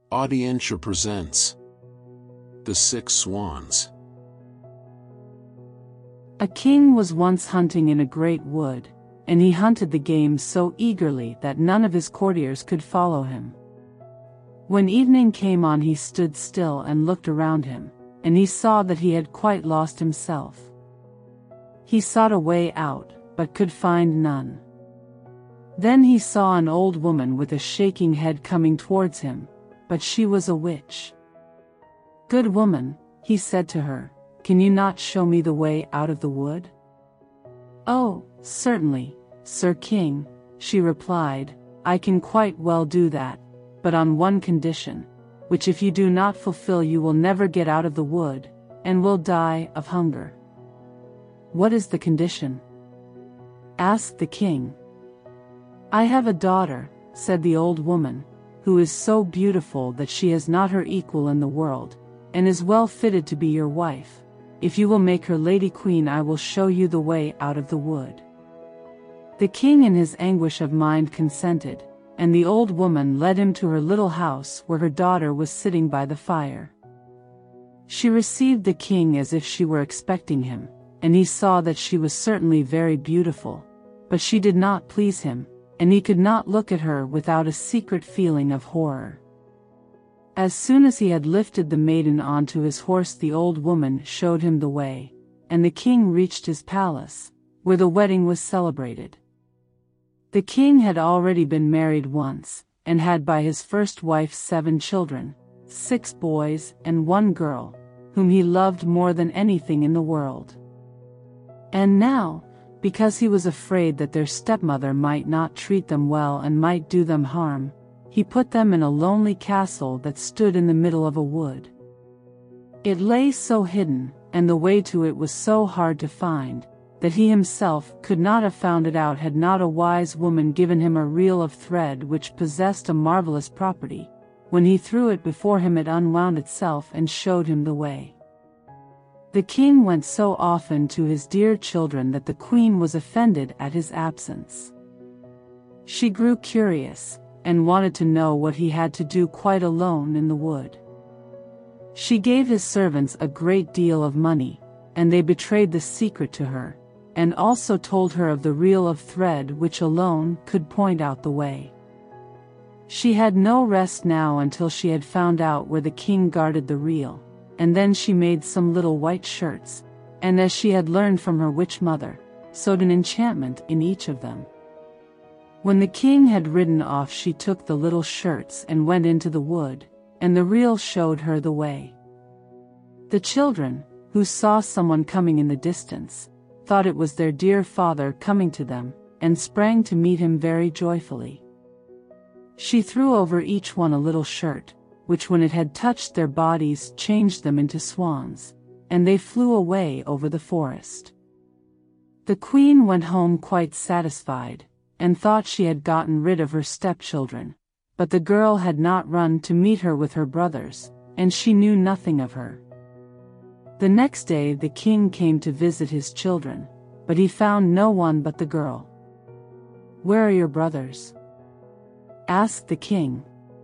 Audientia presents The Six Swans. A king was once hunting in a great wood, and he hunted the game so eagerly that none of his courtiers could follow him. When evening came on, he stood still and looked around him, and he saw that he had quite lost himself. He sought a way out, but could find none. Then he saw an old woman with a shaking head coming towards him, but she was a witch. "Good woman," he said to her, "can you not show me the way out of the wood?" "Oh, certainly, Sir King," she replied, "I can quite well do that, but on one condition, which if you do not fulfill you will never get out of the wood, and will die of hunger." "What is the condition?" asked the king. "I have a daughter," said the old woman, "who is so beautiful that she has not her equal in the world, and is well fitted to be your wife. If you will make her Lady Queen, I will show you the way out of the wood." The king in his anguish of mind consented, and the old woman led him to her little house where her daughter was sitting by the fire. She received the king as if she were expecting him, and he saw that she was certainly very beautiful, but she did not please him, and he could not look at her without a secret feeling of horror. As soon as he had lifted the maiden onto his horse, the old woman showed him the way, and the king reached his palace, where the wedding was celebrated. The king had already been married once, and had by his first wife 7 children, 6 boys and 1 girl, whom he loved more than anything in the world. And now, because he was afraid that their stepmother might not treat them well and might do them harm, he put them in a lonely castle that stood in the middle of a wood. It lay so hidden, and the way to it was so hard to find, that he himself could not have found it out had not a wise woman given him a reel of thread which possessed a marvelous property. When he threw it before him, it unwound itself and showed him the way. The king went so often to his dear children that the queen was offended at his absence. She grew curious, and wanted to know what he had to do quite alone in the wood. She gave his servants a great deal of money, and they betrayed the secret to her, and also told her of the reel of thread which alone could point out the way. She had no rest now until she had found out where the king guarded the reel, and then she made some little white shirts, and as she had learned from her witch mother, sewed an enchantment in each of them. When the king had ridden off, she took the little shirts and went into the wood, and the reel showed her the way. The children, who saw someone coming in the distance, thought it was their dear father coming to them, and sprang to meet him very joyfully. She threw over each one a little shirt, which when it had touched their bodies changed them into swans, and they flew away over the forest. The queen went home quite satisfied, and thought she had gotten rid of her stepchildren, but the girl had not run to meet her with her brothers, and she knew nothing of her. The next day the king came to visit his children, but he found no one but the girl. "Where are your brothers?" asked the king.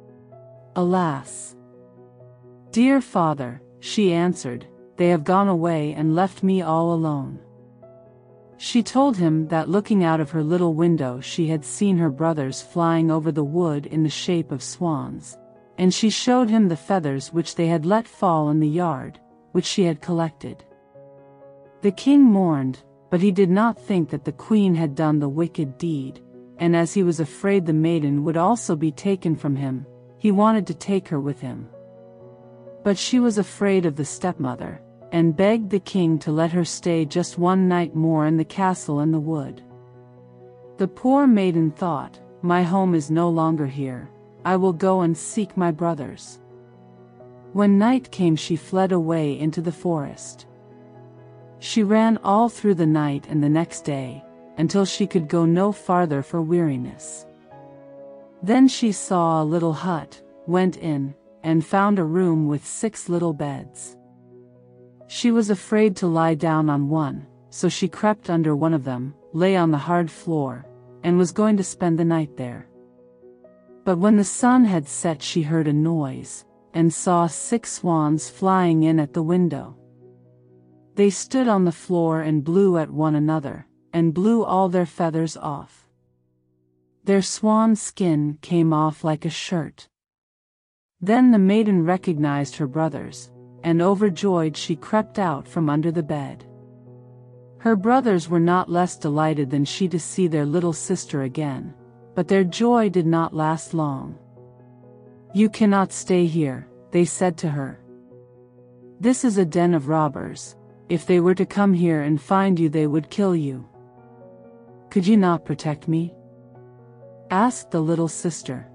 "Alas, dear father," she answered, "they have gone away and left me all alone." She told him that looking out of her little window she had seen her brothers flying over the wood in the shape of swans, and she showed him the feathers which they had let fall in the yard, which she had collected. The king mourned, but he did not think that the queen had done the wicked deed, and as he was afraid the maiden would also be taken from him, he wanted to take her with him. But she was afraid of the stepmother, and begged the king to let her stay just one night more in the castle in the wood. The poor maiden thought, "My home is no longer here, I will go and seek my brothers." When night came she fled away into the forest. She ran all through the night and the next day, until she could go no farther for weariness. Then she saw a little hut, went in, and found a room with 6 little beds. She was afraid to lie down on one, so she crept under one of them, lay on the hard floor, and was going to spend the night there. But when the sun had set she heard a noise, and saw 6 swans flying in at the window. They stood on the floor and blew at one another, and blew all their feathers off. Their swan skin came off like a shirt. Then the maiden recognized her brothers, and overjoyed she crept out from under the bed. Her brothers were not less delighted than she to see their little sister again, but their joy did not last long. "You cannot stay here," they said to her. "This is a den of robbers. If they were to come here and find you, they would kill you. Could you not protect me?" asked the little sister.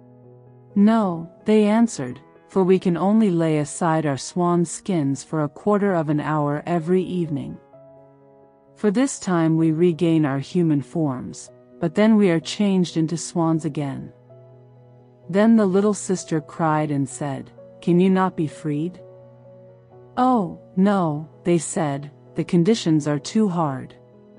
"No," they answered, "for we can only lay aside our swan skins for a quarter of an hour every evening. For this time we regain our human forms, but then we are changed into swans again." Then the little sister cried and said, "Can you not be freed?" "Oh, no," they said, "the conditions are too hard.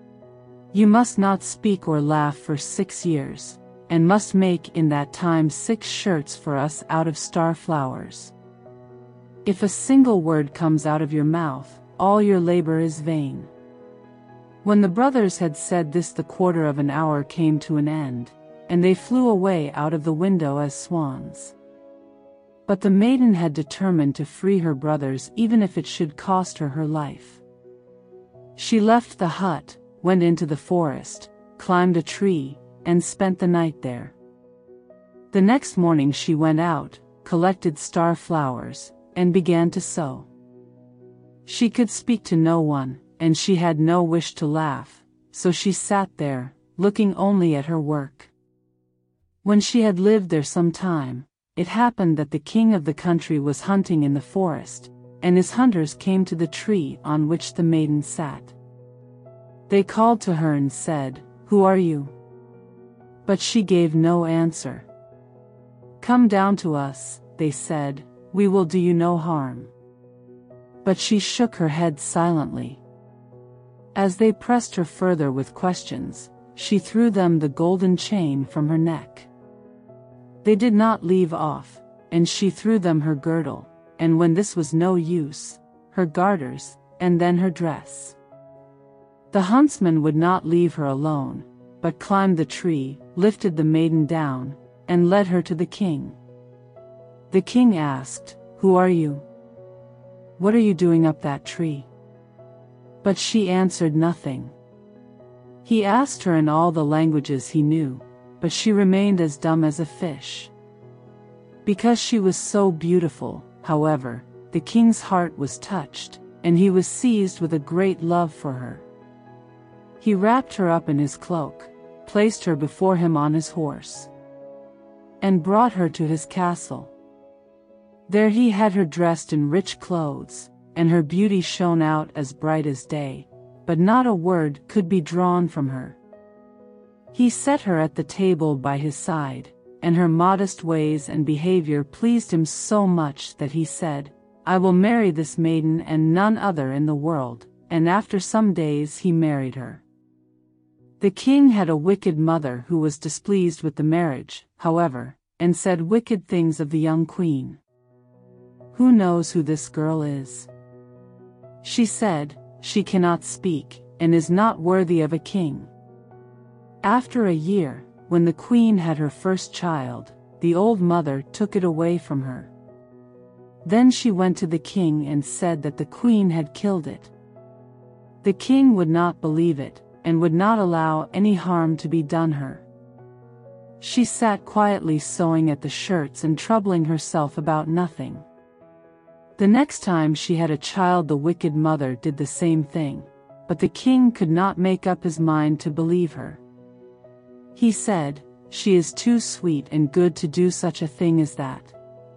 You must not speak or laugh for 6 years, and must make in that time 6 shirts for us out of star flowers. If a single word comes out of your mouth, all your labor is vain." When the brothers had said this, the quarter of an hour came to an end, and they flew away out of the window as swans. But the maiden had determined to free her brothers even if it should cost her her life. She left the hut, went into the forest, climbed a tree, and spent the night there. The next morning she went out, collected star flowers, and began to sew. She could speak to no one, and she had no wish to laugh, so she sat there, looking only at her work. When she had lived there some time, it happened that the king of the country was hunting in the forest, and his hunters came to the tree on which the maiden sat. They called to her and said, "Who are you?" But she gave no answer. "Come down to us," they said, "we will do you no harm." But she shook her head silently. As they pressed her further with questions, she threw them the golden chain from her neck. They did not leave off, and she threw them her girdle, and when this was no use, her garters, and then her dress. The huntsman would not leave her alone, but climbed the tree, lifted the maiden down, and led her to the king. The king asked, "Who are you? What are you doing up that tree?" But she answered nothing. He asked her in all the languages he knew, but she remained as dumb as a fish. Because she was so beautiful, however, the king's heart was touched, and he was seized with a great love for her. He wrapped her up in his cloak, placed her before him on his horse, and brought her to his castle. There he had her dressed in rich clothes, and her beauty shone out as bright as day, but not a word could be drawn from her. He set her at the table by his side, and her modest ways and behavior pleased him so much that he said, "I will marry this maiden and none other in the world," and after some days he married her. The king had a wicked mother who was displeased with the marriage, however, and said wicked things of the young queen. "Who knows who this girl is?" she said. "She cannot speak, and is not worthy of a king." After a year, when the queen had her first child, the old mother took it away from her. Then she went to the king and said that the queen had killed it. The king would not believe it, and would not allow any harm to be done her. She sat quietly sewing at the shirts and troubling herself about nothing. The next time she had a child, the wicked mother did the same thing, but the king could not make up his mind to believe her. He said, "She is too sweet and good to do such a thing as that.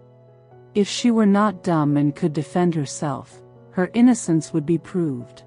If she were not dumb and could defend herself, her innocence would be proved."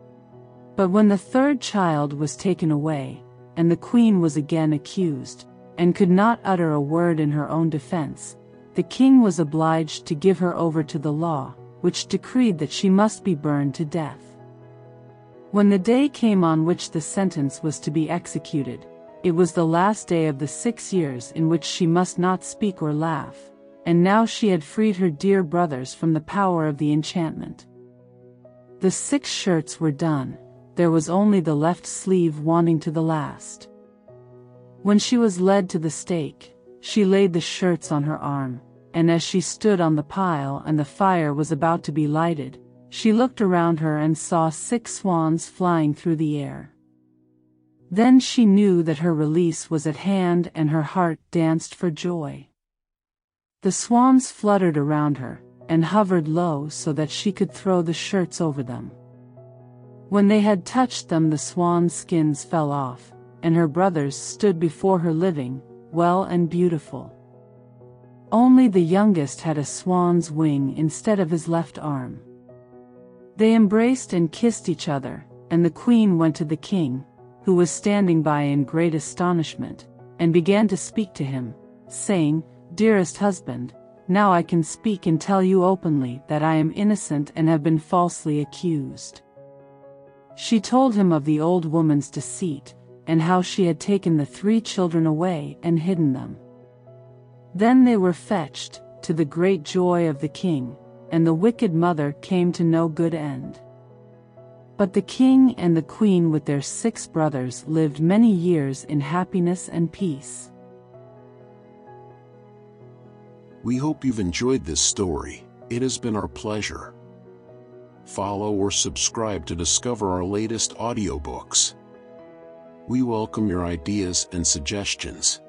But when the third child was taken away, and the queen was again accused, and could not utter a word in her own defense, the king was obliged to give her over to the law, which decreed that she must be burned to death. When the day came on which the sentence was to be executed, It was the last day of the 6 years in which she must not speak or laugh, and now she had freed her dear brothers from the power of the enchantment. The 6 shirts were done, there was only the left sleeve wanting to the last. When she was led to the stake, she laid the shirts on her arm, and as she stood on the pile and the fire was about to be lighted, she looked around her and saw 6 swans flying through the air. Then she knew that her release was at hand and her heart danced for joy. The swans fluttered around her, and hovered low so that she could throw the shirts over them. When they had touched them, the swan skins fell off, and her brothers stood before her living, well and beautiful. Only the youngest had a swan's wing instead of his left arm. They embraced and kissed each other, and the queen went to the king, who was standing by in great astonishment, and began to speak to him, saying, "Dearest husband, now I can speak and tell you openly that I am innocent and have been falsely accused." She told him of the old woman's deceit, and how she had taken the 3 children away and hidden them. Then they were fetched, to the great joy of the king, and the wicked mother came to no good end. But the king and the queen with their 6 brothers lived many years in happiness and peace. We hope you've enjoyed this story. It has been our pleasure. Follow or subscribe to discover our latest audiobooks. We welcome your ideas and suggestions.